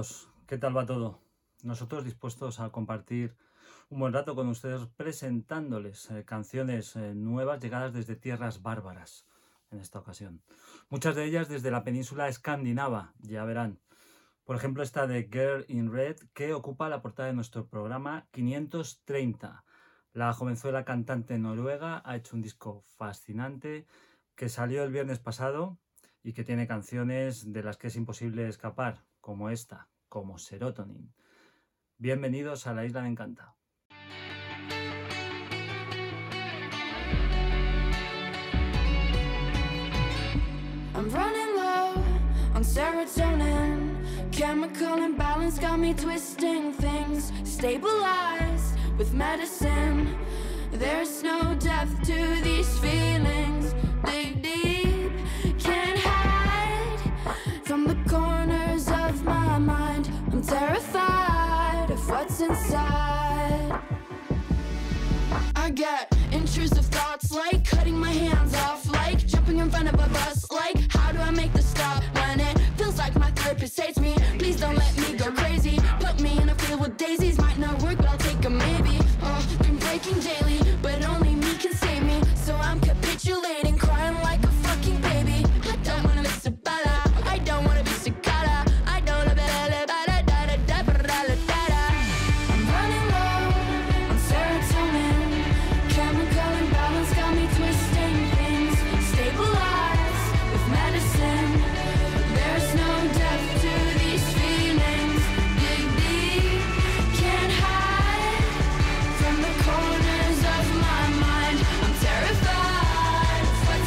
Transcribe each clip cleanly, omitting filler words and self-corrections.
amigos, ¿qué tal va todo? Nosotros dispuestos a compartir un buen rato con ustedes presentándoles canciones nuevas llegadas desde tierras bárbaras en esta ocasión. Muchas de ellas desde la península escandinava, ya verán. Por ejemplo, esta de Girl in Red, que ocupa la portada de nuestro programa 530. La jovenzuela cantante noruega ha hecho un disco fascinante que salió el viernes pasado y que tiene canciones de las que es imposible escapar, como esta, como Serotonin. Bienvenidos a la Isla de Encanta. I'm running low on serotonin. Chemical imbalance got me twisting things. Stabilized with medicine. There's no depth to these feelings. Dig deep, can't hide from the corners of my mind. I'm terrified of what's inside. I get intrusive thoughts like cutting my hands off, like jumping in front of a bus, like how do I make the stop when it feels like my therapist hates me? Please don't let me go crazy. Put me in a field with daisies, might not work, but I'll take a maybe. Been breaking daily, but only me can save me. So I'm capitulating, crying like a fucking baby. I don't wanna miss a bala, I don't wanna be cicada. I don't wanna be I'm running low on serotonin. Chemical imbalance got me twisting things. Stabilized with medicine. There's no depth to these feelings. Dig deep, can't hide from the corners of my mind. I'm terrified of what's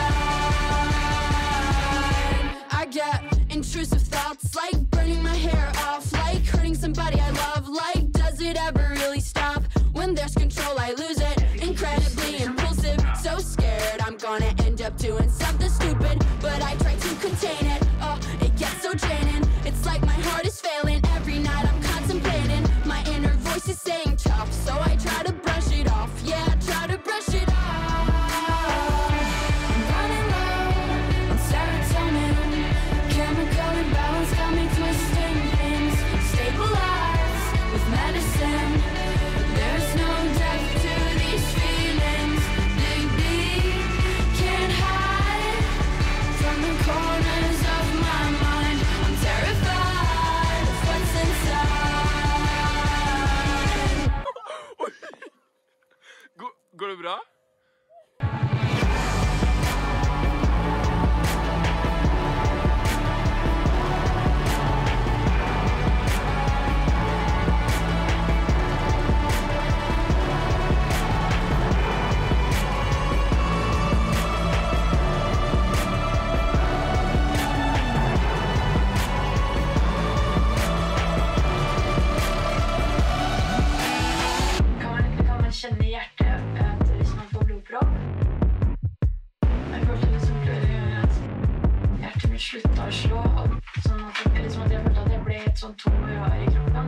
inside. I get intrusive thoughts like burning my hair off, like hurting somebody I love, like does it ever really stop? When there's control I lose it, incredibly impulsive, so scared I'm gonna end up doing something stupid, but I try to contain it. Oh, it gets so draining, it's like my heart is failing. Every night I'm contemplating, my inner voice is saying tough, so I try to brush it off. Yeah, I try to brush it off. I'm running low on serotonin. Chemical imbalance got me twisting things. Stabilized with medicine. There's no depth to these feelings. Dig deep, can't hide from the corners of my mind. I'm terrified of what's inside. Går det bra? Kan man känna i hjärtat att hvis man får blodpropp? Jag får liksom att hjärtat mitt slutar slå, sånn at det liksom at jeg følte at jeg ble et sånt tom rør i kroppen.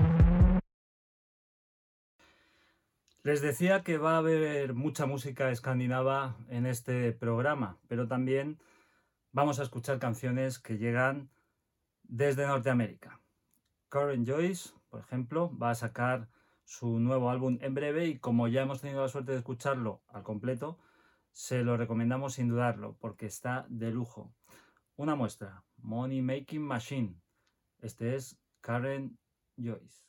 Les decía que va a haber mucha música escandinava en este programa, pero también vamos a escuchar canciones que llegan desde Norteamérica. Karen Joyce, por ejemplo, va a sacar su nuevo álbum en breve y como ya hemos tenido la suerte de escucharlo al completo, se lo recomendamos sin dudarlo porque está de lujo. Una muestra, Money Making Machine. Este es Karen Joyce.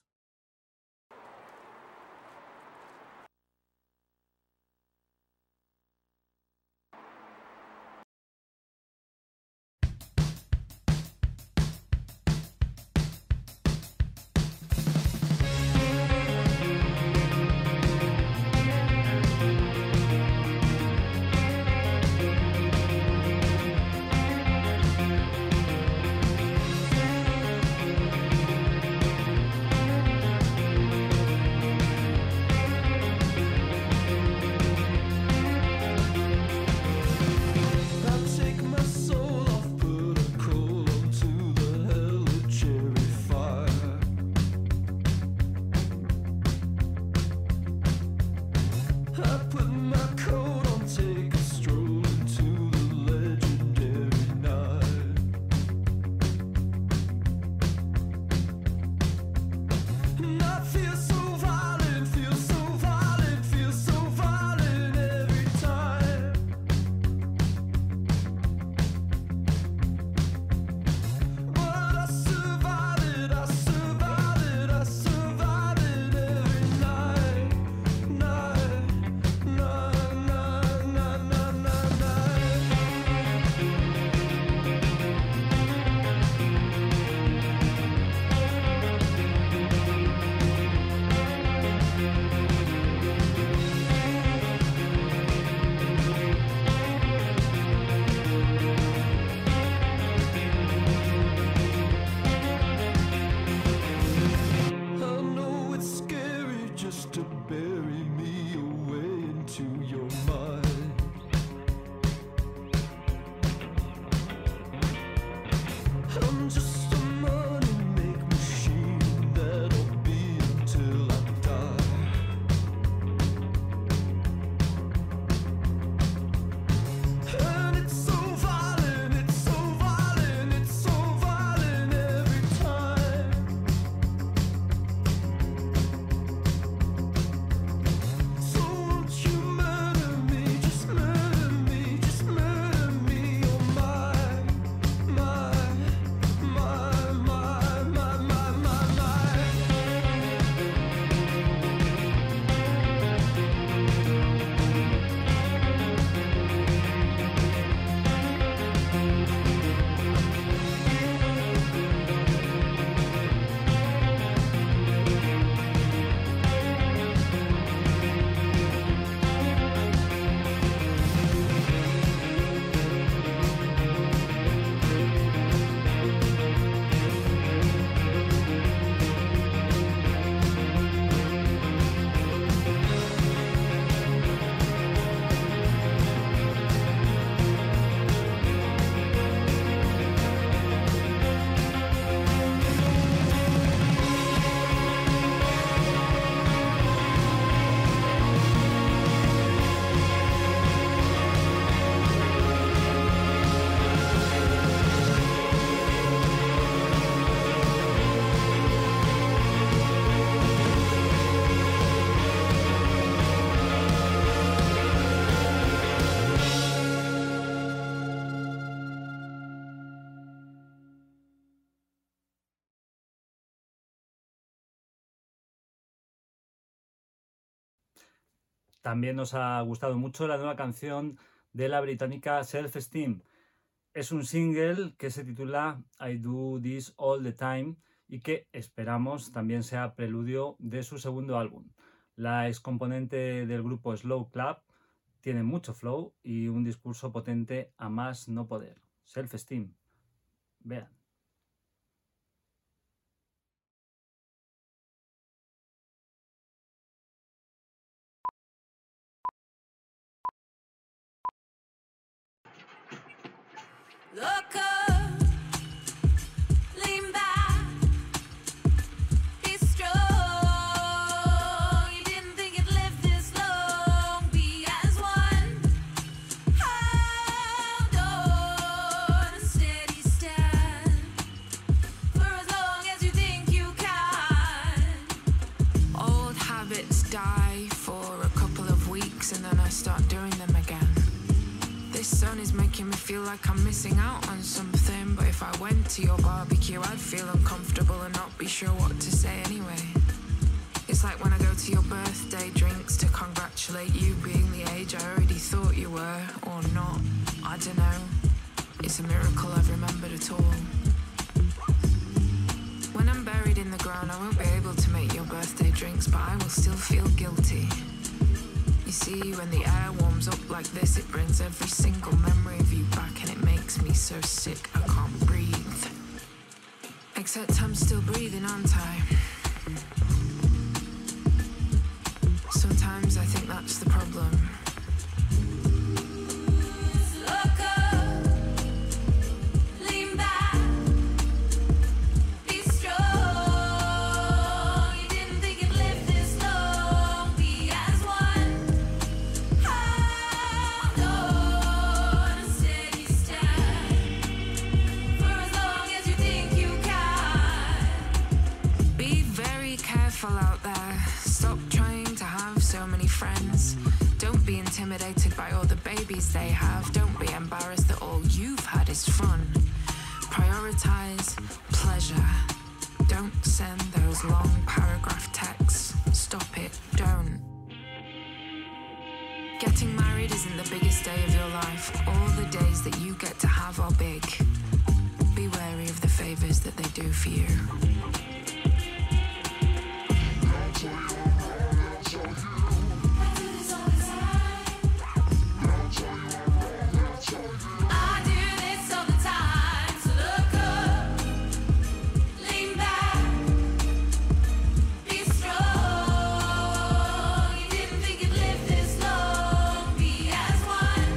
I'm También nos ha gustado mucho la nueva canción de la británica Self Esteem. Es un single que se titula I Do This All the Time y que esperamos también sea preludio de su segundo álbum. La excomponente del grupo Slow Club tiene mucho flow y un discurso potente a más no poder. Self Esteem. Vean. Look up, lean back, be strong. You didn't think you'd live this long. Be as one. Hold on, a steady stand for as long as you think you can. Old habits die for a couple of weeks and then I start doing them again. This sun is making me feel like I'm missing out on something. But if I went to your barbecue, I'd feel uncomfortable and not be sure what to say anyway. It's like when I go to your birthday drinks to congratulate you being the age I already thought you were, or not. I don't know. It's a miracle I've remembered at all. When I'm buried in the ground, I won't be able to make your birthday drinks, but I will still feel guilty. You see, when the air warms up like this, it brings every single memory of you back and it makes me so sick I can't breathe. Except I'm still breathing, aren't I? Sometimes I think that's the problem. Look up, lean back, be strong. You didn't think you'd live this long. Be as one. Hold on, a steady stand for as long as you think you can. Be very careful out there. Stop trying to have so many friends. Don't be intimidated by all the babies they have. Don't be embarrassed that all you've had is fun. Prioritize pleasure. Don't send those long paragraph texts. Stop it, don't. Getting married isn't the biggest day of your life. All the days that you get to have are big. Be wary of the favors that they do for you. I do this all the time, so look up, lean back, be strong. You didn't think you'd live this long. Be as one.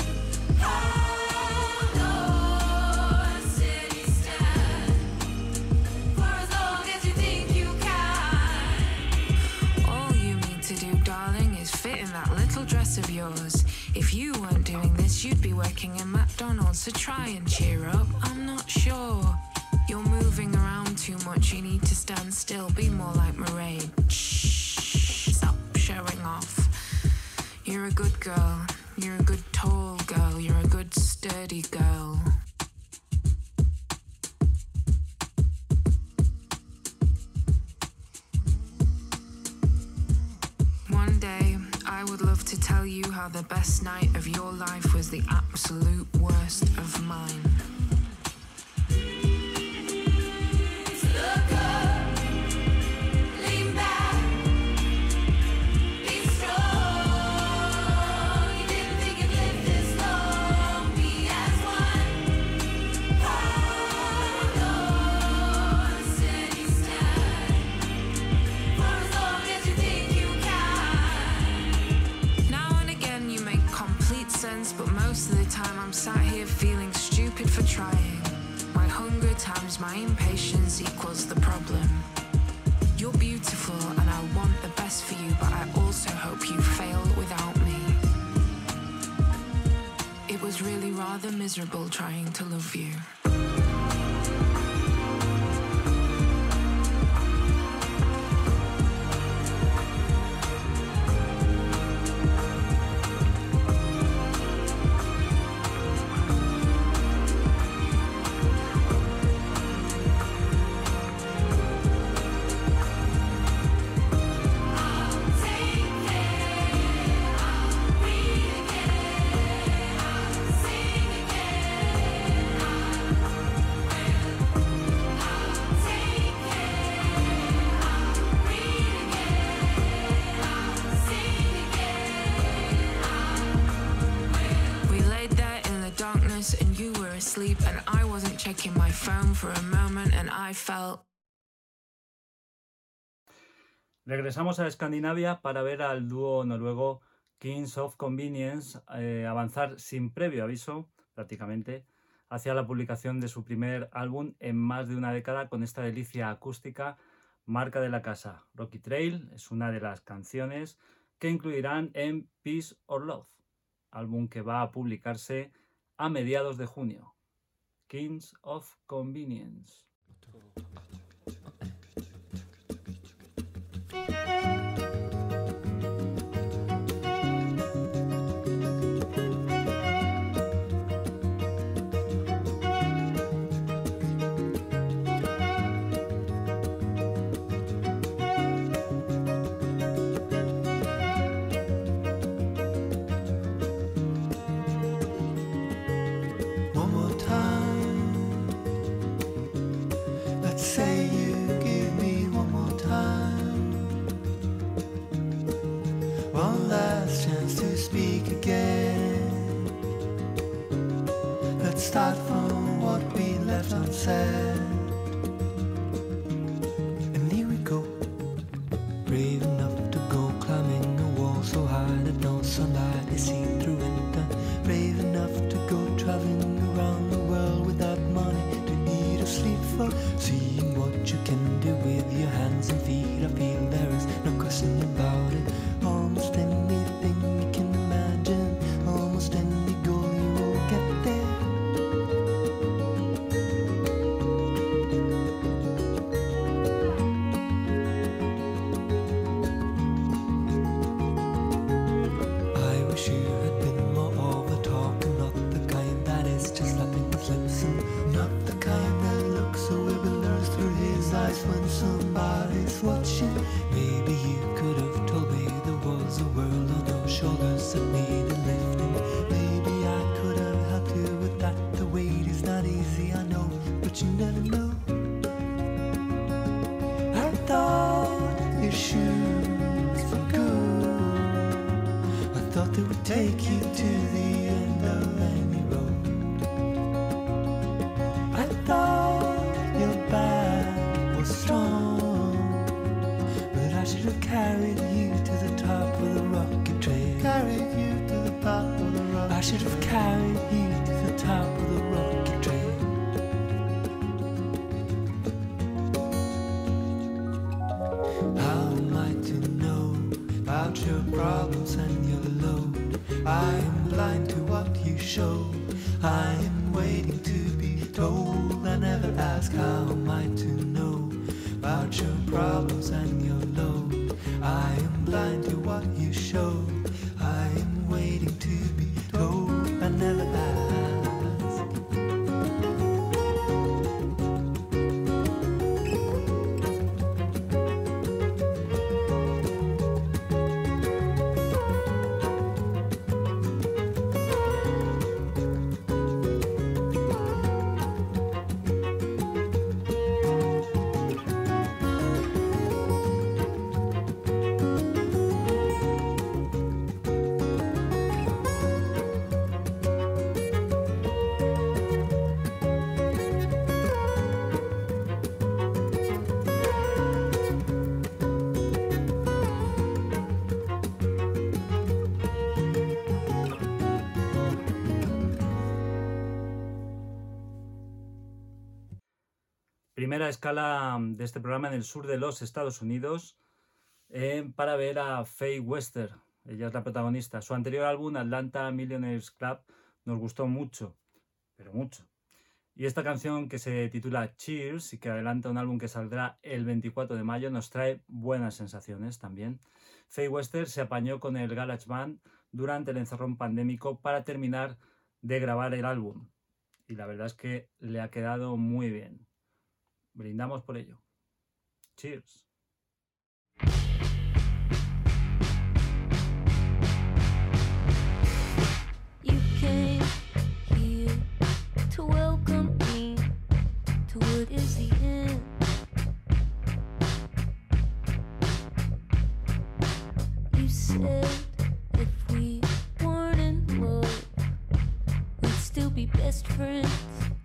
Hold on, a steady stand for as long as you think you can. All you need to do, darling, is fit in that little dress of yours. If you weren't doing this, you'd be working in McDonald's, so try and cheer up. I'm not sure. You're moving around too much, you need to stand still. Be more like Mairead. Shh, stop showing off. You're a good girl. You're a good tall girl. You're a good sturdy girl. One day, I would love to tell you how the best night of your life was the absolute worst of mine. Look up, lean back, be strong. You didn't think you'd live this long. Be as one. Hold on, a steady stand for as long as you think you can. Now and again you make complete sense, but most of the time I'm sat here feeling stupid for trying. My hunger times my impatience equals the problem. You're beautiful and I want the best for you, but I also hope you fail without me. It was really rather miserable trying to love you. I'll take care asleep and I wasn't checking my phone for a moment and I felt... Regresamos a Escandinavia para ver al dúo noruego Kings of Convenience avanzar sin previo aviso, prácticamente, hacia la publicación de su primer álbum en más de una década con esta delicia acústica marca de la casa. Rocky Trail es una de las canciones que incluirán en Peace or Love, álbum que va a publicarse a mediados de junio. Kings of Convenience. Start from what we left unsaid. And here we go, brave enough to go climbing a wall so high that no sunlight is seen through it. Brave enough to go traveling around the world without money to eat or sleep for. Seeing what you can do with your hands and feet, I feel there is no question about it. Almost anything you can imagine, almost any goal you will get there. When somebody's watching, maybe you could have told me there was a world on your shoulders that needed lifting. Maybe I could have helped you with that. The weight is not easy, I know, but you never know. I thought your shoes were good. I thought they would take you to the end of any road. I thought your back was strong, but I should have carried you to the top of the rocket train. Carried you to the top of the rocket. I should have carried you to the top of the rocket train. How am I to know about your problems and your load? I am blind to what you show. I am waiting to be told. I never ask how am I to know about your problems and your load. I am blind to what you show. I am waiting to be told. I never ask. Primera escala de este programa en el sur de los Estados Unidos para ver a Faye Wester. Ella es la protagonista. Su anterior álbum, Atlanta Millionaires Club, nos gustó mucho, pero mucho. Y esta canción, que se titula Cheers y que adelanta un álbum que saldrá el 24 de mayo, nos trae buenas sensaciones también. Faye Wester se apañó con el GarageBand durante el encerrón pandémico para terminar de grabar el álbum. Y la verdad es que le ha quedado muy bien. Brindamos por ello. Cheers. You came here to welcome me to what is the end. You said if we weren't in love, we'd still be best friends.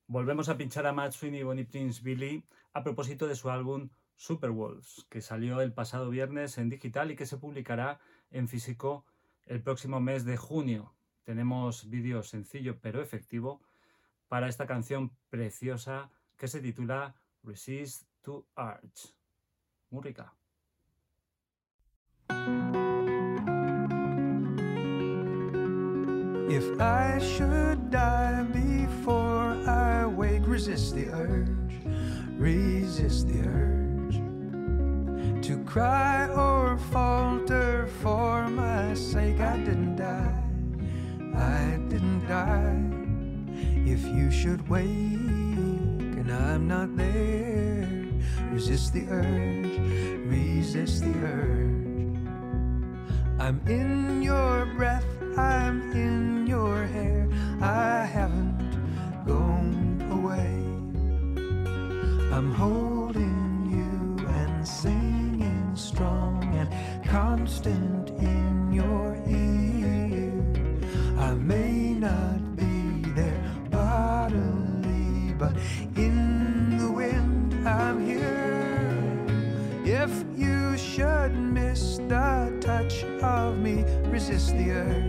Volvemos a pinchar a Matt Sweeney y Bonnie Prince Billy a propósito de su álbum Superwolves, que salió el pasado viernes en digital y que se publicará en físico el próximo mes de junio. Tenemos vídeo sencillo pero efectivo para esta canción preciosa que se titula Resist to Urge. Muy rica. If I should die before I wake, resist the urge to cry or falter for my sake. I didn't die. If you should wake and I'm not there, resist the urge. I'm in your breath, I'm in your hair, I haven't gone away. I'm holding you and singing strong and constant in your ear. I may not be there bodily, but in the wind I'm here. If you should miss the touch of me, resist the urge.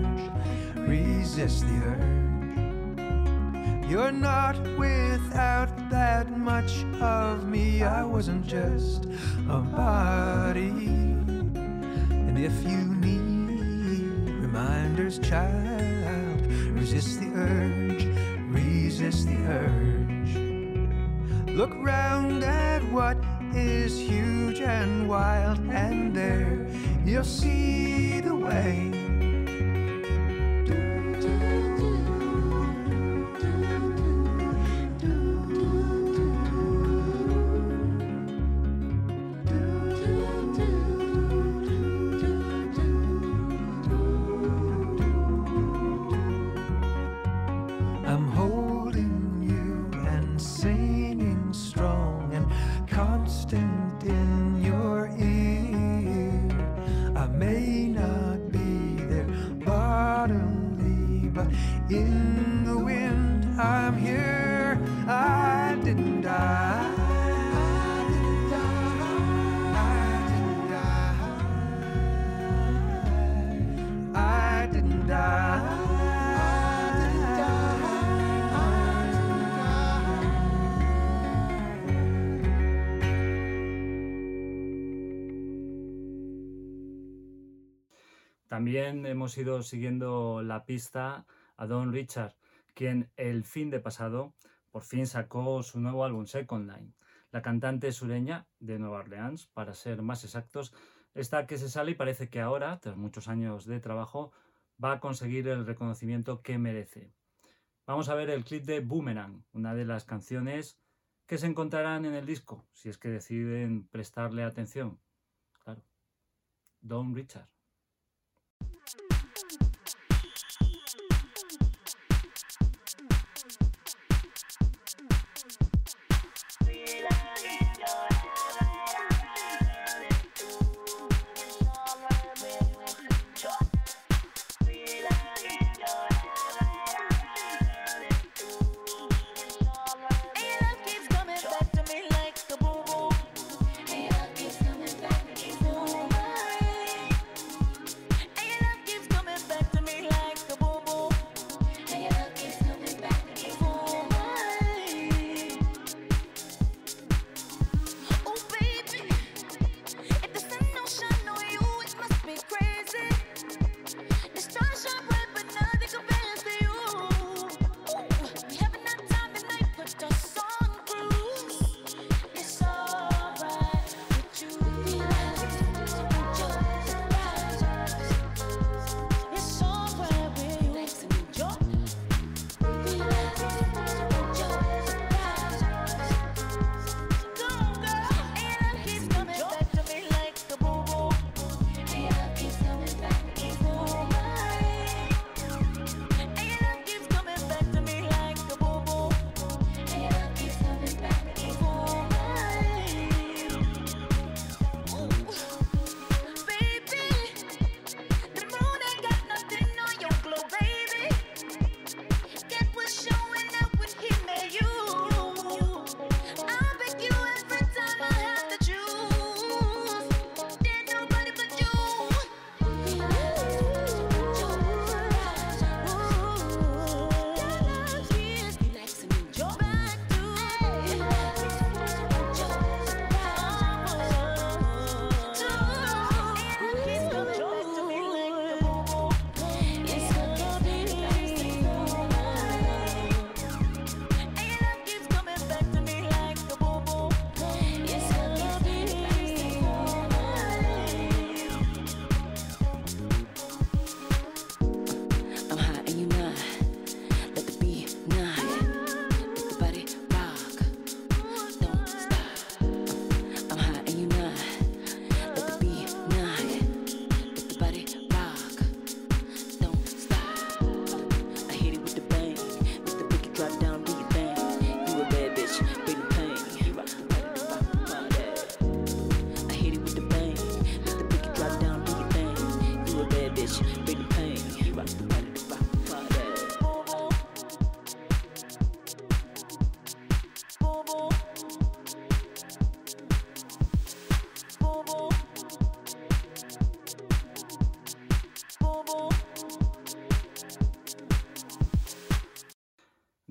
You're not without that much of me. I wasn't just a body. And if you need reminders, child, resist the urge. Look round at what is huge and wild, and there you'll see the way. I'm holding you and singing strong and constant in your ear. I may not be there bodily, but in the wind I'm here. I didn't die. I didn't die. También hemos ido siguiendo la pista a Don Richard, quien el fin de pasado por fin sacó su nuevo álbum Second Line. La cantante sureña de Nueva Orleans, para ser más exactos, está que se sale y parece que ahora, tras muchos años de trabajo, va a conseguir el reconocimiento que merece. Vamos a ver el clip de Boomerang, una de las canciones que se encontrarán en el disco, si es que deciden prestarle atención. Claro, Don Richard.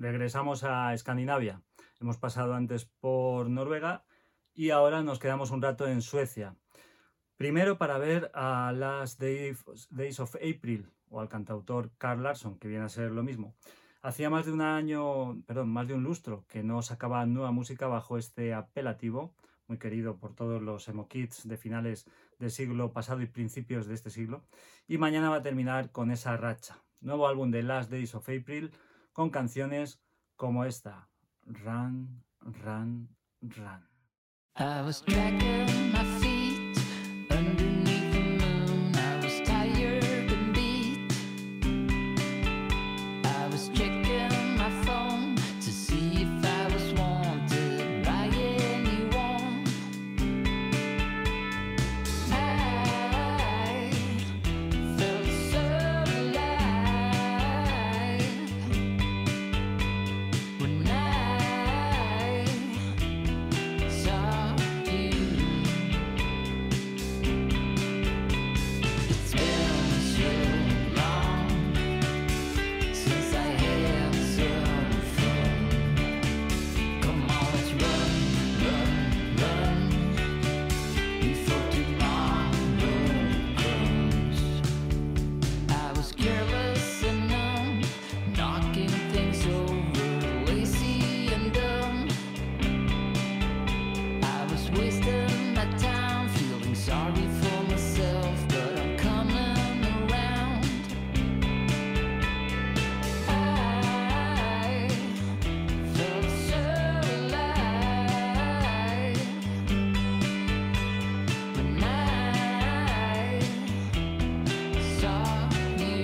regresamos a Escandinavia. Hemos pasado antes por Noruega y ahora nos quedamos un rato en Suecia. Primero para ver a Last Days of April, o al cantautor Carl Larsson, que viene a ser lo mismo. Hacía más de un lustro que no sacaba nueva música bajo este apelativo, muy querido por todos los emo kids de finales del siglo pasado y principios de este siglo. Y mañana va a terminar con esa racha. Nuevo álbum de Last Days of April con canciones como esta, Run, Run, Run. I was dragging my feet underneath the moon. I was tired and beat. I was checking my phone to see if I was wanted by anyone. I felt so alive when I saw you. It's been so long since I had some fun. Come on, let's run, run, run before tomorrow comes. I was careless and numb, knocking things over, lazy and dumb. I was wasting my time, feeling sorry for myself, but I'm coming around. I felt so alive when I saw you.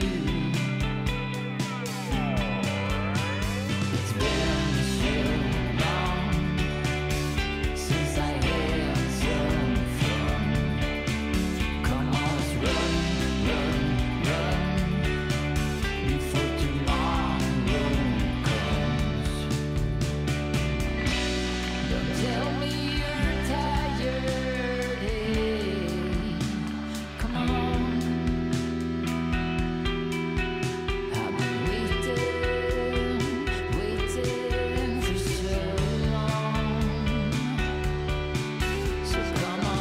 It's been so long since I had some fun. Come on, let's run, run, run before tomorrow comes. Don't tell me you're tired, hey, come on. I've been waiting for so long. So come on.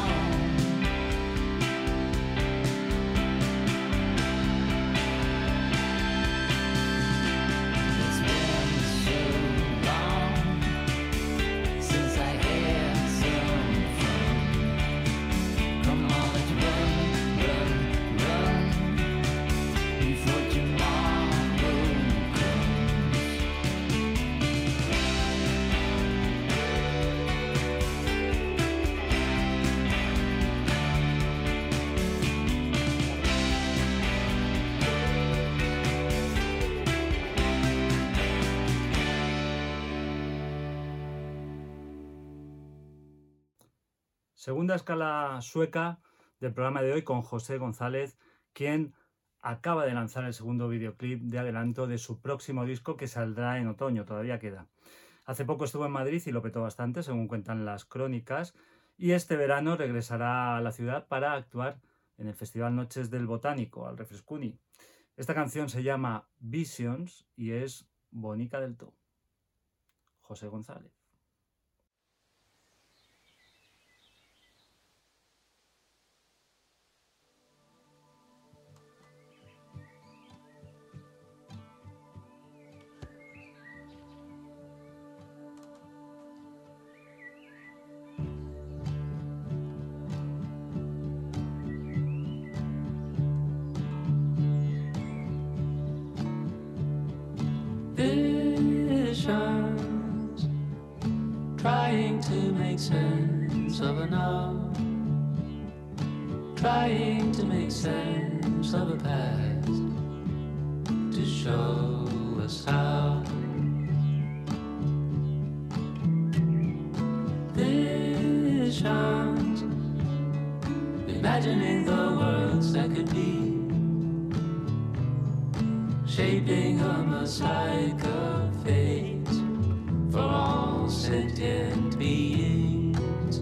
It's been so long since I had some fun. Come on, let's run, run, run before tomorrow comes. Segunda escala sueca del programa de hoy con José González, quien acaba de lanzar el segundo videoclip de adelanto de su próximo disco que saldrá en otoño, todavía queda. Hace poco estuvo en Madrid y lo petó bastante, según cuentan las crónicas, y este verano regresará a la ciudad para actuar en el Festival Noches del Botánico, al Refrescuni. Esta canción se llama Visions y es bonica del todo. José González. Visions, trying to make sense of a now, trying to make sense of a past, to show us how. Visions, imagining the worlds that could be, shaping a mosaic of fate for all sentient beings.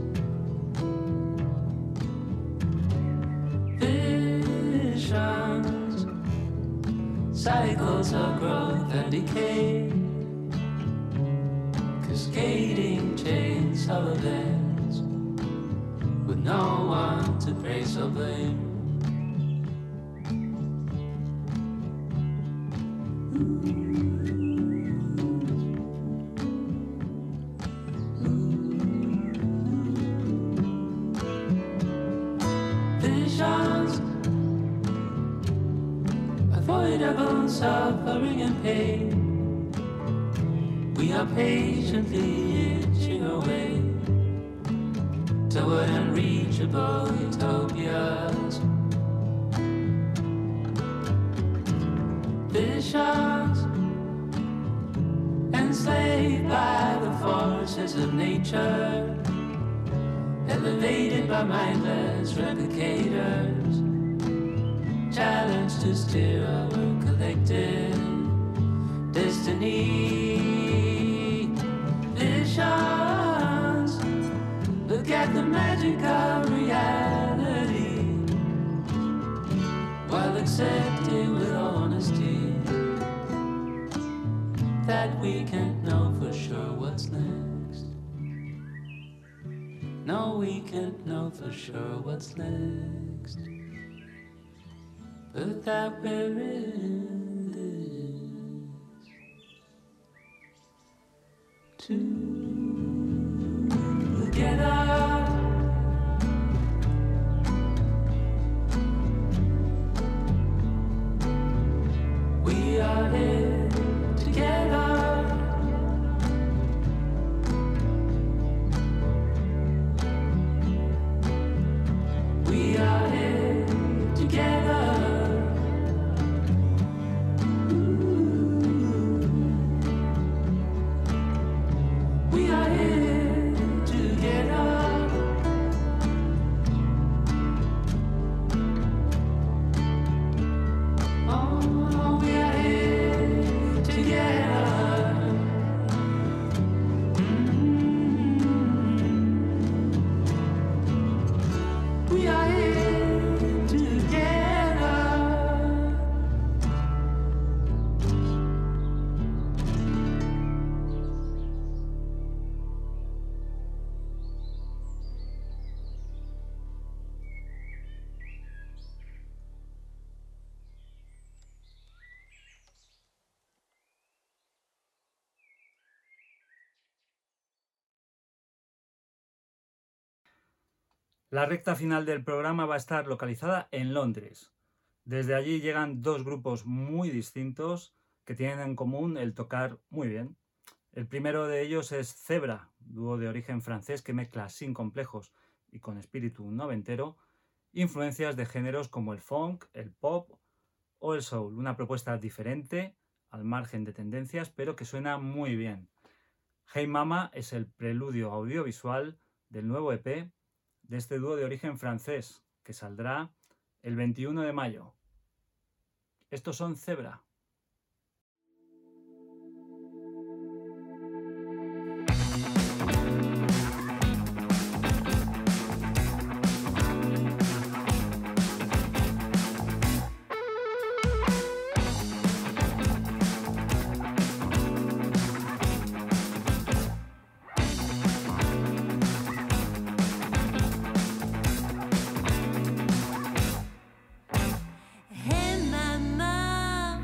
Visions, cycles of growth and decay, skating chainsaw events with no one to praise or blame. Visions, avoidable suffering and pain. We are patiently itching away toward unreachable utopias. Visions, enslaved by the forces of nature, elevated by mindless replicators, challenged to steer our collective destiny. Visions, look at the magic of reality while accepting with honesty that we can't know for sure what's next. No, we can't know for sure what's next, but that we're in this together. We are here together. We are here together. We are here together. Oh, we are here together. We are here together. La recta final del programa va a estar localizada en Londres. Desde allí llegan dos grupos muy distintos que tienen en común el tocar muy bien. El primero de ellos es Zebra, dúo de origen francés que mezcla sin complejos y con espíritu noventero influencias de géneros como el funk, el pop o el soul. Una propuesta diferente, al margen de tendencias, pero que suena muy bien. Hey Mama es el preludio audiovisual del nuevo EP de este dúo de origen francés, que saldrá el 21 de mayo. Estos son Zebra. Hey mama,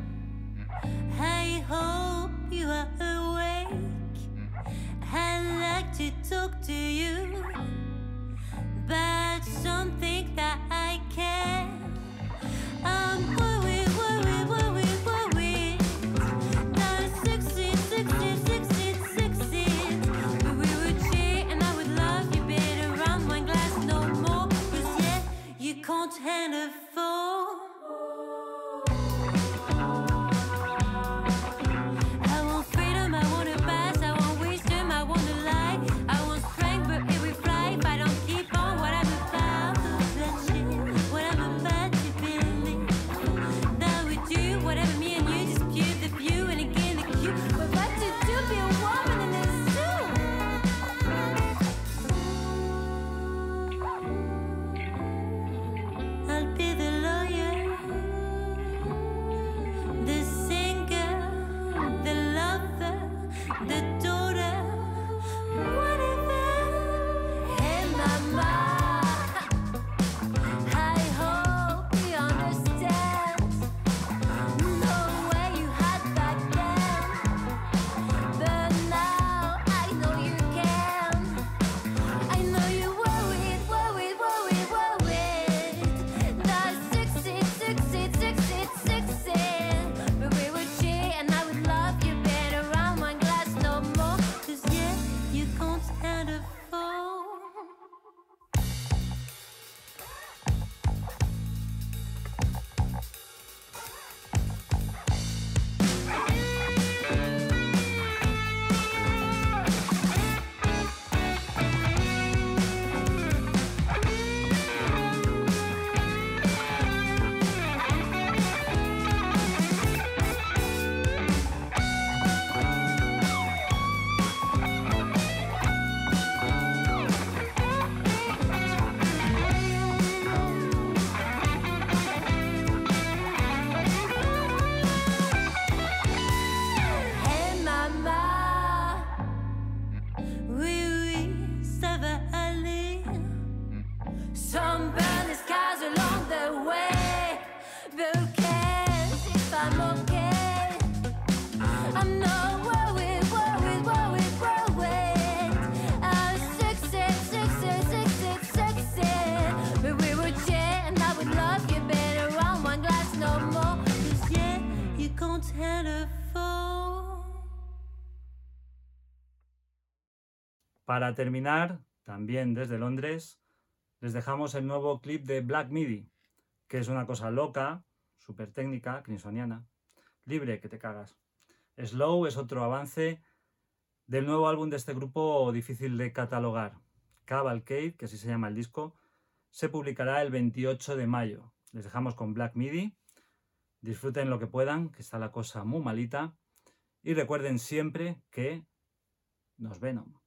I hope you are awake. I'd like to talk to you about something that I can. I'm worried. Not 16. We would cheat and I would love you better around one glass no more. 'Cause yeah, you can't handle four. I want freedom, I want a pass, I want wisdom, I want a lie. I want strength, but it will fly if I don't keep on what I'm about to bloodshed, what I'm about to believe. That we do whatever me and you dispute the view and again the cue. We're about to do be a woman in a zoo. I'll be the love mama. I hope you understand the way you had back then, but now I know you can. I know you worried. That's 16, but we would cheat and I would love you better around one glass no more. 'Cause yeah, you can't stand a fool. Hey mama, oui, ça va aller. Some burning skies along the way, but who cares if I'm okay? I'm not worried. I'm 16, but we would share and I would love you better around one glass no more. 'Cause yeah, you can't handle a fool. Para terminar, también desde Londres, les dejamos el nuevo clip de Black Midi, que es una cosa loca, súper técnica, clinsoniana, libre que te cagas. Slow es otro avance del nuevo álbum de este grupo difícil de catalogar. Cavalcade, que así se llama el disco, se publicará el 28 de mayo. Les dejamos con Black Midi. Disfruten lo que puedan, que está la cosa muy malita. Y recuerden siempre que nos Venom.